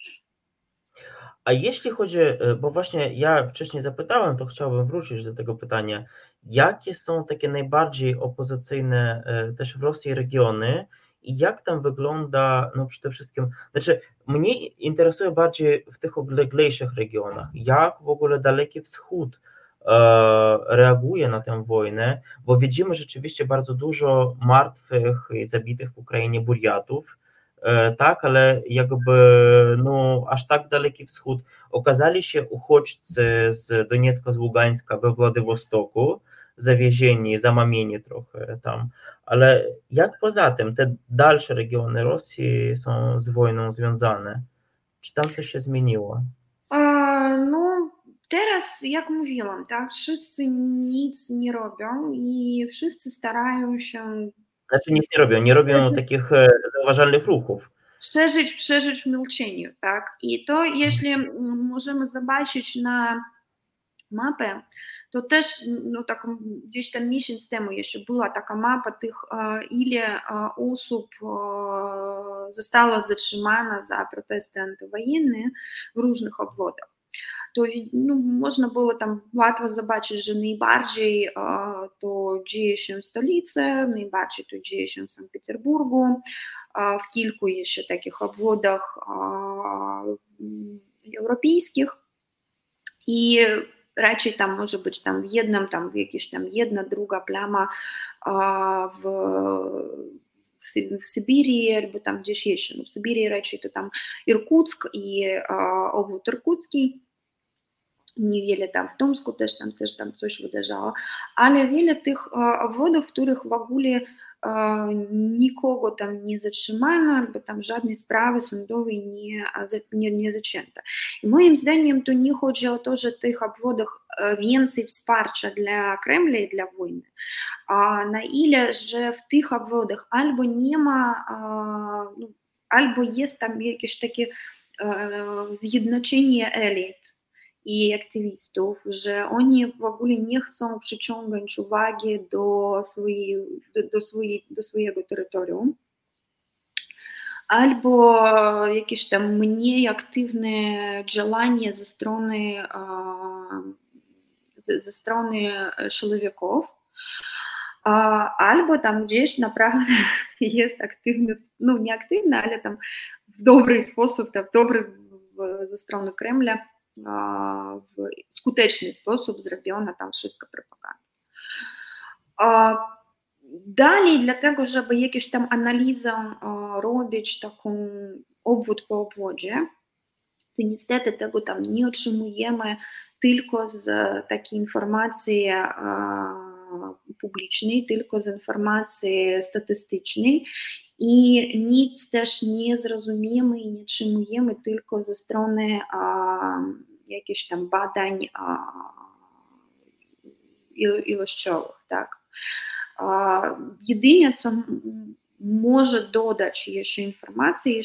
A jeśli chodzi, bo właśnie ja wcześniej zapytałem, to chciałbym wrócić do tego pytania, jakie są takie najbardziej opozycyjne też w Rosji regiony i jak tam wygląda, no przede wszystkim, znaczy mnie interesuje bardziej w tych odleglejszych regionach, jak w ogóle Daleki Wschód reaguje na tę wojnę, bo widzimy rzeczywiście bardzo dużo martwych i zabitych w Ukrainie Burjatów, tak, ale jakby no, aż tak Daleki Wschód. Okazali się uchodźcy z Doniecka, z Ługańska we Władywostoku, zawiezieni, zamamieni trochę tam, ale jak poza tym te dalsze regiony Rosji są z wojną związane? Czy tam coś się zmieniło? No, teraz, jak mówiłam, tak, wszyscy nic nie robią i wszyscy starają się Znaczy nic nie robią przeżyć, takich zauważalnych ruchów. przeżyć w milczeniu, tak. I to, jeśli możemy zobaczyć na mapę, to też no, tak, gdzieś tam miesiąc temu jeszcze była taka mapa tych, ile osób zostało zatrzymane za protesty antywojenne w różnych obwodach. To no, można było tam łatwo zobaczyć, że najbardziej to dzieje się w stolicy, najbardziej to dzieje się w Sankt Petersburgu, w kilku jeszcze takich obwodach europejskich i raczej tam może być tam w jednym, tam jakieś tam jedna, druga plama w, w Syberii albo tam gdzieś jeszcze. No w Syberii raczej to tam Irkutsk i obwód irkucki. Niewiele tam w Tomsku też tam coś wydarzało, ale wiele tych obwodów, w których w ogóle nikogo tam nie zatrzymano, albo tam żadnej sprawy sądowej nie zaczęto. I moim zdaniem to nie chodzi o to, że w tych obwodach więcej wsparcia dla Kremla i dla wojny, a na ile, że w tych obwodach albo nie ma, albo jest tam jakieś takie zjednoczenie elit i aktywistów, że oni w ogóle nie chcą przyciągać uwagi do swojego terytorium, albo jakieś tam mniej aktywne działanie ze strony siłowików, albo tam gdzieś naprawdę jest aktywny, no nie aktywny, ale tam w dobry sposób, tam ze strony Kremla, w skuteczny sposób zrobiona tam wszystko propaganda. Dalej, dlatego, żeby jakieś tam analizę robić, taką obwód po obwodzie, to niestety tego tam nie otrzymujemy tylko z takiej informacji publicznej, tylko z informacji statystycznej i nic też nie zrozumiemy i nie otrzymujemy tylko ze strony jakichś tam badań ilościowych, tak. Jedynie co może dodać jeszcze informacje,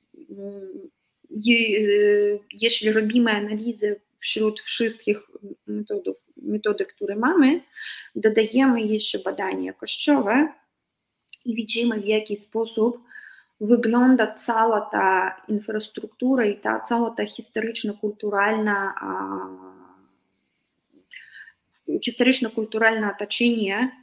jeśli robimy analizę wśród wszystkich metodek, które mamy, dodajemy jeszcze badania jakościowe i widzimy, w jaki sposób wygląda cała ta infrastruktura i cała ta historyczno-kulturalne otoczenie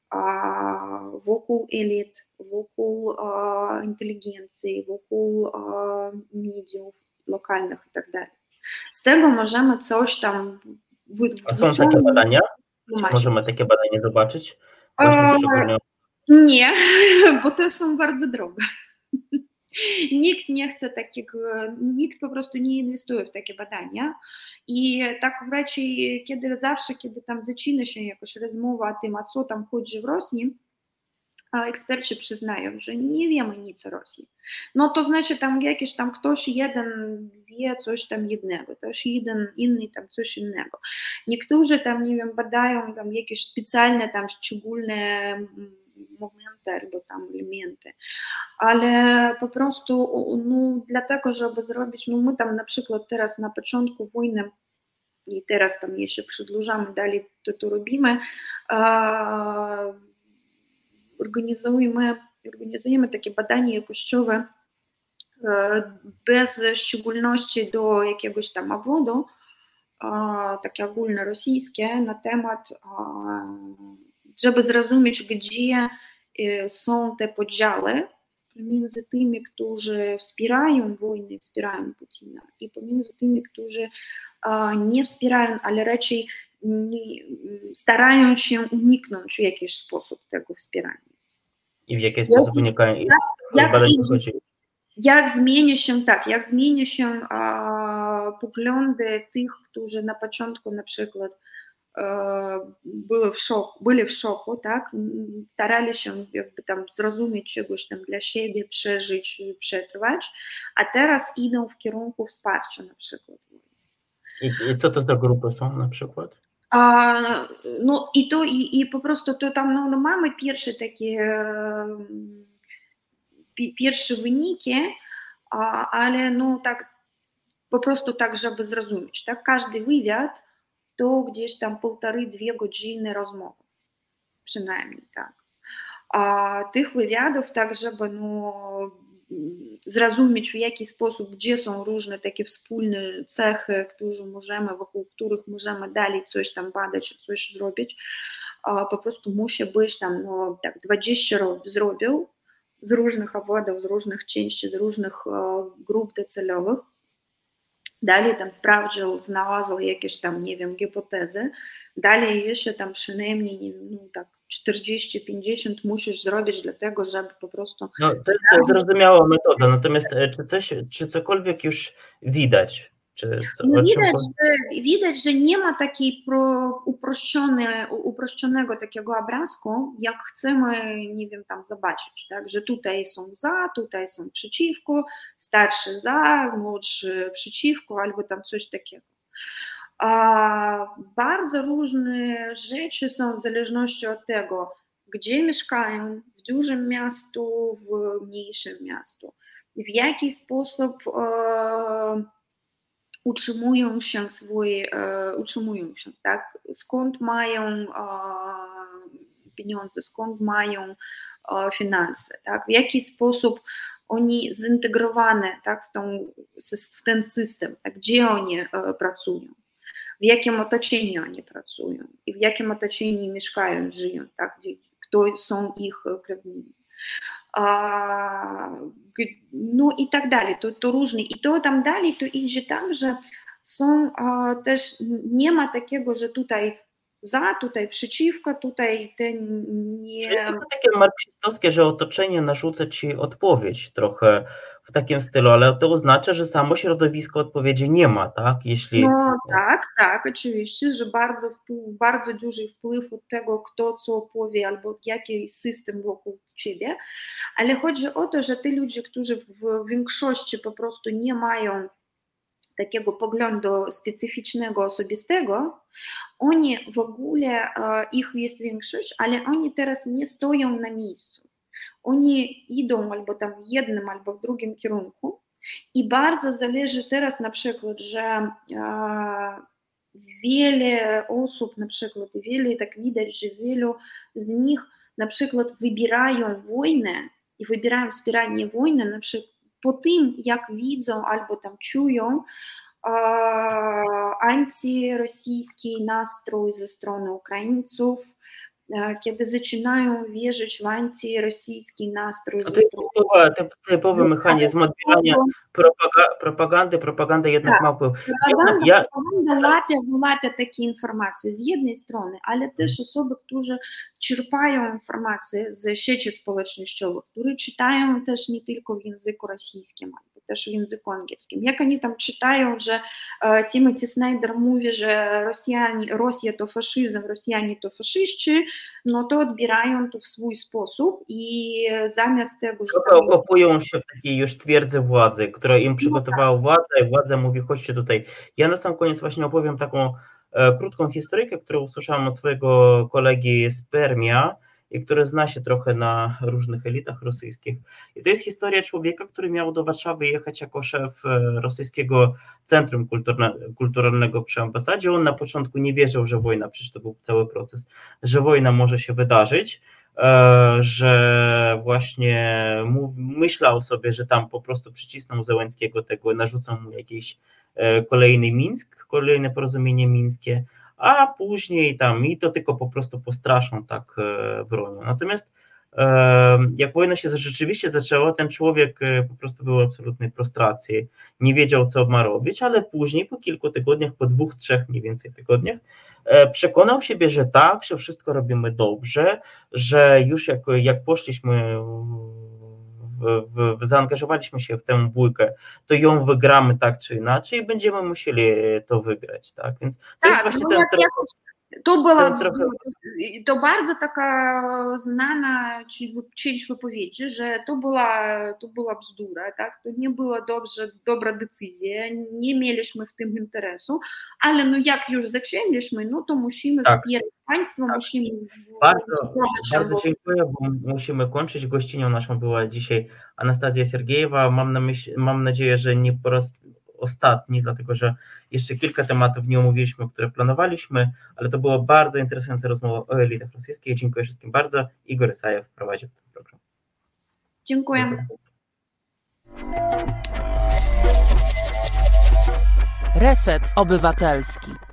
wokół elit, wokół inteligencji, wokół mediów lokalnych i tak dalej. Z tego możemy coś tam A są takie badania? Czy możemy takie badania zobaczyć? Właśnie szczególnie... Nie, bo to są bardzo drogie. Nikt nie chce takiego, nikt po prostu nie inwestuje w takie badania i tak raczej kiedy tam zaczyna się jakaś rozmowa o tym, o co tam chodzi w Rosji, eksperci przyznają, że nie wiemy nic o Rosji. No to znaczy tam jakiś tam ktoś jeden wie coś tam jednego, też inny tam coś innego. Niektórzy tam, nie wiem, badają tam jakieś specjalne tam szczególne momenty albo tam elementy, ale po prostu no, dlatego, żeby zrobić, no my tam na przykład teraz na początku wojny i teraz tam jeszcze przedłużamy, dalej to robimy, organizujemy takie badania jakościowe bez szczególności do jakiegoś tam obwodu, takie ogólnorosyjskie na temat, żeby zrozumieć, gdzie są te podziały pomiędzy tymi, którzy wspierają wojnę, wspierają Putina i pomiędzy tymi, którzy nie wspierają, ale raczej starają się uniknąć w jakiś sposób tego wspierania. I w jaki sposób unikają? Jak zmienia się poglądy tych, którzy na początku na przykład byli w szoku, tak? Starali się jakby tam zrozumieć czegoś tam dla siebie, przeżyć, przetrwać, a teraz idą w kierunku wsparcia na przykład. I co to za grupy są na przykład? No i po prostu to tam no mamy pierwsze takie pierwsze wyniki, ale no tak po prostu tak, żeby zrozumieć, tak? Każdy wywiad to gdzieś tam 1,5–2 godziny rozmowy, przynajmniej tak. A tych wywiadów tak, żeby no, zrozumieć w jaki sposób, gdzie są różne takie wspólne cechy, wokół których możemy dalej coś tam badać, coś zrobić, po prostu musi być tam no, tak 20 zrobił z różnych obwodów, z różnych części, z różnych grup docelowych. Dalej tam sprawdził, znalazł jakieś tam, nie wiem, hipotezy. Dalej jeszcze tam przynajmniej, nie wiem, no tak 40–50 musisz zrobić dlatego, żeby po prostu... No, to jest zrozumiała metoda, natomiast czy cokolwiek już widać? Widać, że nie ma takiej uproszczonego takiego obrazku, jak chcemy, nie wiem, tam zobaczyć, tak, że tutaj są za, tutaj są przeciwko, starszy za, młodszy przeciwko, albo tam coś takiego. Bardzo różne rzeczy są w zależności od tego, gdzie mieszkają, w dużym miastu, w mniejszym miastu, w jaki sposób utrzymują się, tak? Skąd mają pieniądze, skąd mają finanse, tak? W jaki sposób oni zintegrowane, tak? w ten system, tak? Gdzie oni pracują, w jakim otoczeniu oni pracują i w jakim otoczeniu mieszkają, żyją, tak? Kto są ich krewni. No i tak dalej, to różnie. I to tam dalej to idzie tak, że są też, nie ma takiego, że tutaj za, tutaj przeciwko, tutaj ten nie... Czyli to takie marksistowskie, że otoczenie narzuca ci odpowiedź trochę w takim stylu, ale to oznacza, że samo środowisko odpowiedzi nie ma, tak? No tak, oczywiście, że bardzo duży wpływ od tego, kto co powie, albo jaki system wokół ciebie, ale chodzi o to, że te ludzie, którzy w większości po prostu nie mają takiego poglądu specyficznego, osobistego, oni w ogóle, ich jest większość, ale oni teraz nie stoją na miejscu. Oni idą albo tam w jednym, albo w drugim kierunku i bardzo zależy teraz na przykład, że wiele osób na przykład, tak widać, że wielu z nich na przykład wybierają wojnę i wybierają wspieranie wojny na przykład po tym, jak widzą albo tam czują antyrosyjski nastrój ze strony Ukraińców, kiedy zaczynają wierzyć w antyrosyjski nastrój. To typowy mechanizm odbierania propagandy. Propaganda jednak ma wpływ. Propaganda łapie takie informacje z jednej strony, ale też osoby, które czerpają informacje z sieci społecznościowych, które czytają też nie tylko w języku rosyjskim, ale też w języku angielskim. Jak oni tam czytają, że Timothy Snyder mówi, że Rosja to faszyzm, Rosjanie to faszyści, no to odbierają to w swój sposób i zamiast tego, że tam... Okopują się w takiej już twierdzy władzy, która im przygotowała władza i władza mówi, chodźcie tutaj. Ja na sam koniec właśnie opowiem taką krótką historyjkę, którą usłyszałem od swojego kolegi z Permia i który zna się trochę na różnych elitach rosyjskich. I to jest historia człowieka, który miał do Warszawy jechać jako szef rosyjskiego centrum kulturalnego przy ambasadzie. On na początku nie wierzył, że wojna, przecież to był cały proces, że wojna może się wydarzyć, że właśnie myślał sobie, że tam po prostu przycisną Zełenskiego tego, narzucą mu jakiś kolejny Mińsk, kolejne porozumienie mińskie, a później tam i to tylko po prostu postraszą tak bronią. Natomiast Jak wojna się rzeczywiście zaczęła, ten człowiek po prostu był w absolutnej frustracji, nie wiedział, co ma robić, ale później, po kilku tygodniach, po 2-3 mniej więcej tygodniach, przekonał siebie, że tak, że wszystko robimy dobrze, że już jak poszliśmy, zaangażowaliśmy się w tę bójkę, to ją wygramy tak czy inaczej i będziemy musieli to wygrać, tak? Więc to jest właśnie ten to bardzo taka znana część wypowiedzi, że to była bzdura, tak? To nie była dobra decyzja, nie mieliśmy w tym interesu, ale no jak już zaczęliśmy, no to musimy wspierać państwo, musimy... Bardzo dziękuję, bo musimy kończyć. Gościnią naszą była dzisiaj Anastazja Sergejewa. Mam nadzieję, że nie po raz ostatni, dlatego że jeszcze kilka tematów nie omówiliśmy, które planowaliśmy, ale to była bardzo interesująca rozmowa o elitach rosyjskich. Dziękuję wszystkim bardzo. Igor Isajew prowadził ten program. Dziękuję. Reset Obywatelski.